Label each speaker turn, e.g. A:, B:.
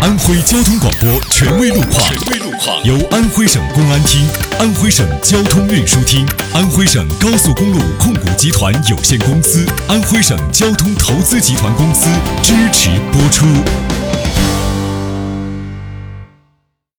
A: 安徽交通广播权威路况，由安徽省公安厅、安徽省交通运输厅、安徽省高速公路控股集团有限公司、安徽省交通投资集团公司支持播出。